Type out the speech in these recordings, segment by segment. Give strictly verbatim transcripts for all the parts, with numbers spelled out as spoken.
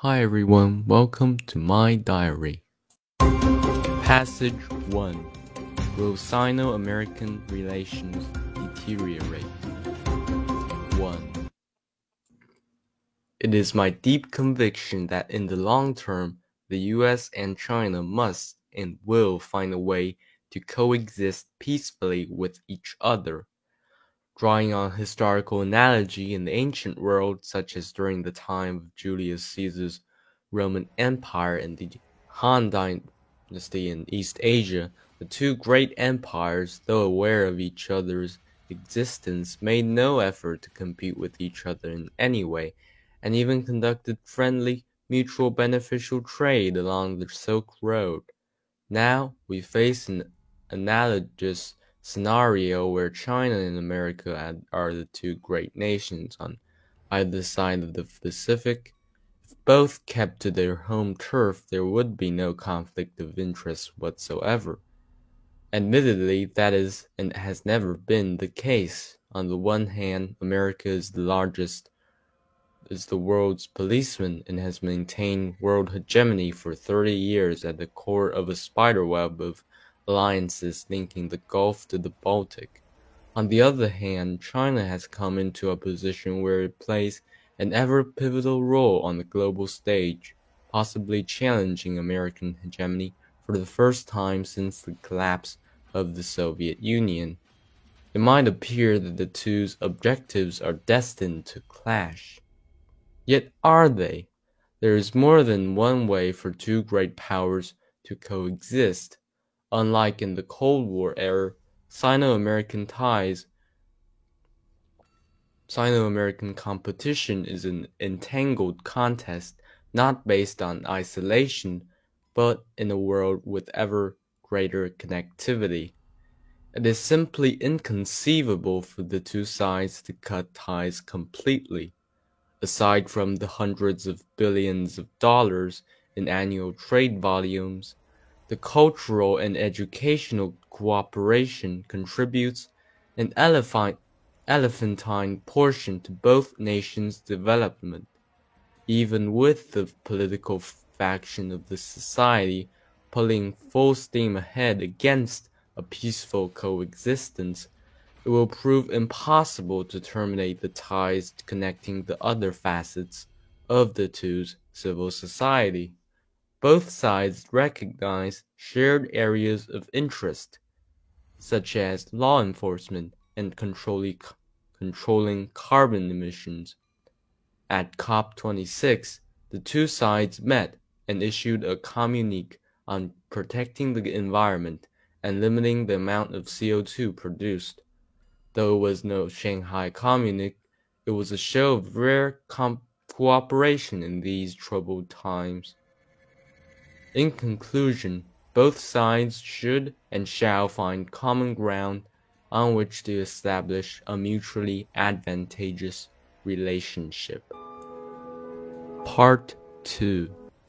Hi everyone, welcome to my diary. Passage one. Will Sino-American relations deteriorate? one. It is my deep conviction that in the long term, the U S and China must and will find a way to coexist peacefully with each other. Drawing on historical analogy in the ancient world, such as during the time of Julius Caesar's Roman Empire and the Han Dynasty in East Asia, the two great empires, though aware of each other's existence, made no effort to compete with each other in any way, and even conducted friendly, mutual beneficial trade along the Silk Road. Now we face an analogous scenario where China and America are the two great nations on either side of the Pacific. If both kept to their home turf, there would be no conflict of interest whatsoever. Admittedly, that is and has never been the case. On the one hand, America is the largest is the world's policeman and has maintained world hegemony for thirty years at the core of a spiderweb of alliances linking the Gulf to the Baltic. On the other hand, China has come into a position where it plays an ever pivotal role on the global stage, possibly challenging American hegemony for the first time since the collapse of the Soviet Union. It might appear that the two's objectives are destined to clash. Yet are they? There is more than one way for two great powers to coexist. Unlike in the Cold War era, Sino-American ties, Sino-American competition is an entangled contest not based on isolation, but in a world with ever greater connectivity. It is simply inconceivable for the two sides to cut ties completely. Aside from the hundreds of billions of dollars in annual trade volumes, the cultural and educational cooperation contributes an elephantine portion to both nations' development. Even with the political faction of the society pulling full steam ahead against a peaceful coexistence, it will prove impossible to terminate the ties connecting the other facets of the two's civil society. Both sides recognize shared areas of interest, such as law enforcement and controlling, controlling carbon emissions. At COP twenty-six, the two sides met and issued a communique on protecting the environment and limiting the amount of C O two produced. Though it was no Shanghai Communique, it was a show of rare cooperation in these troubled times. In conclusion, both sides should and shall find common ground on which to establish a mutually advantageous relationship. Part two.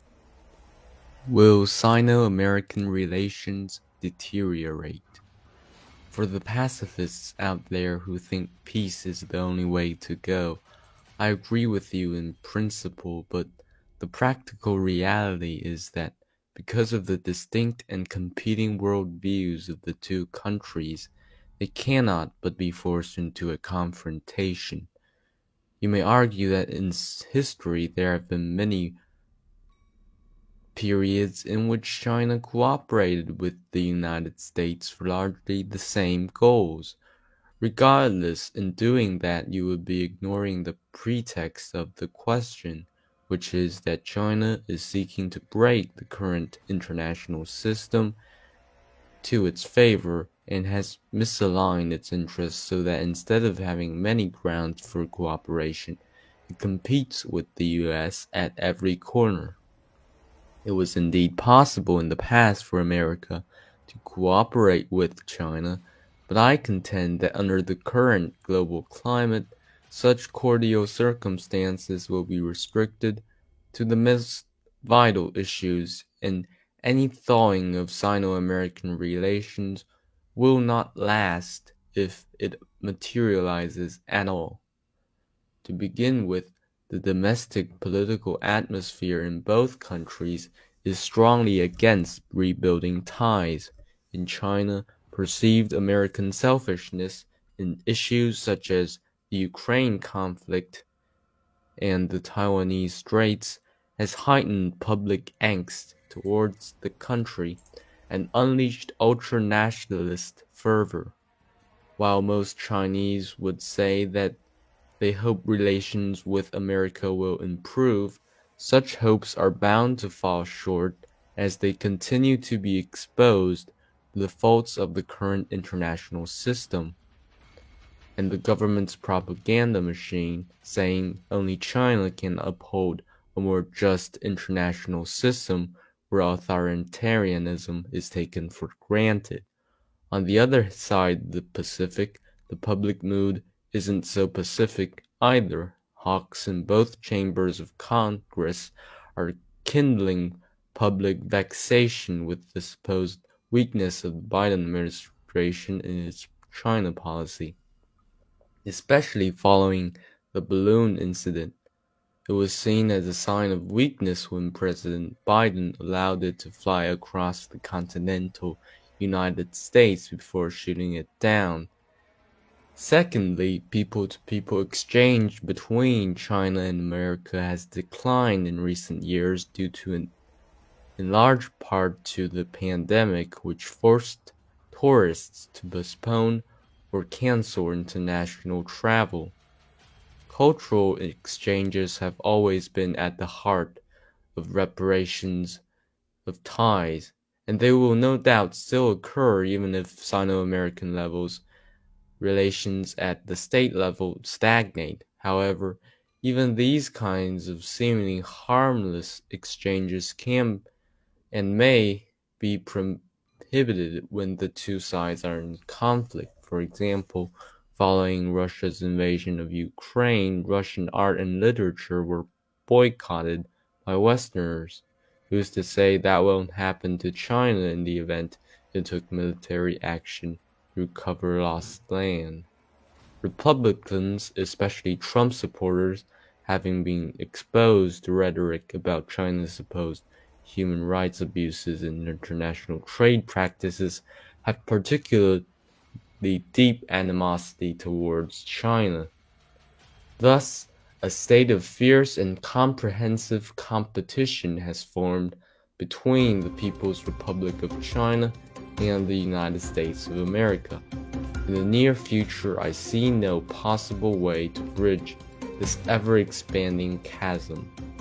Will Sino-American relations deteriorate? For the pacifists out there who think peace is the only way to go, I agree with you in principle, but the practical reality is that because of the distinct and competing worldviews of the two countries, they cannot but be forced into a confrontation. You may argue that in history there have been many periods in which China cooperated with the United States for largely the same goals. Regardless, in doing that you would be ignoring the pretext of the question, which is that China is seeking to break the current international system to its favor and has misaligned its interests so that instead of having many grounds for cooperation, it competes with the U S at every corner. It was indeed possible in the past for America to cooperate with China, but I contend that under the current global climate, such cordial circumstances will be restricted to the most vital issues, and any thawing of Sino-American relations will not last if it materializes at all. To begin with, The domestic political atmosphere in both countries is strongly against rebuilding ties. In China, perceived American selfishness in issues such as the Ukraine conflict and the Taiwanese Straits has heightened public angst towards the country and unleashed ultra-nationalist fervor. While most Chinese would say that they hope relations with America will improve, such hopes are bound to fall short as they continue to be exposed to the faults of the current international system and the government's propaganda machine, saying only China can uphold a more just international system where authoritarianism is taken for granted. On the other side of the Pacific, the public mood isn't so pacific either. Hawks in both chambers of Congress are kindling public vexation with the supposed weakness of the Biden administration in its China policy, especially following the balloon incident. It was seen as a sign of weakness when President Biden allowed it to fly across the continental United States before shooting it down. Secondly, people-to-people exchange between China and America has declined in recent years due to an, in large part to the pandemic, which forced tourists to postpone or cancel international travel. Cultural exchanges have always been at the heart of reparations of ties, and they will no doubt still occur even if Sino-American levels relations at the state level stagnate. However, even these kinds of seemingly harmless exchanges can and may be prohibited when the two sides are in conflict. For example, following Russia's invasion of Ukraine, Russian art and literature were boycotted by Westerners. Who's to say that won't happen to China in the event it took military action to recover lost land? Republicans, especially Trump supporters, having been exposed to rhetoric about China's supposed human rights abuses and international trade practices, have particularly deep animosity towards China. Thus, a state of fierce and comprehensive competition has formed between the People's Republic of China and the United States of America. In the near future, I see no possible way to bridge this ever-expanding chasm.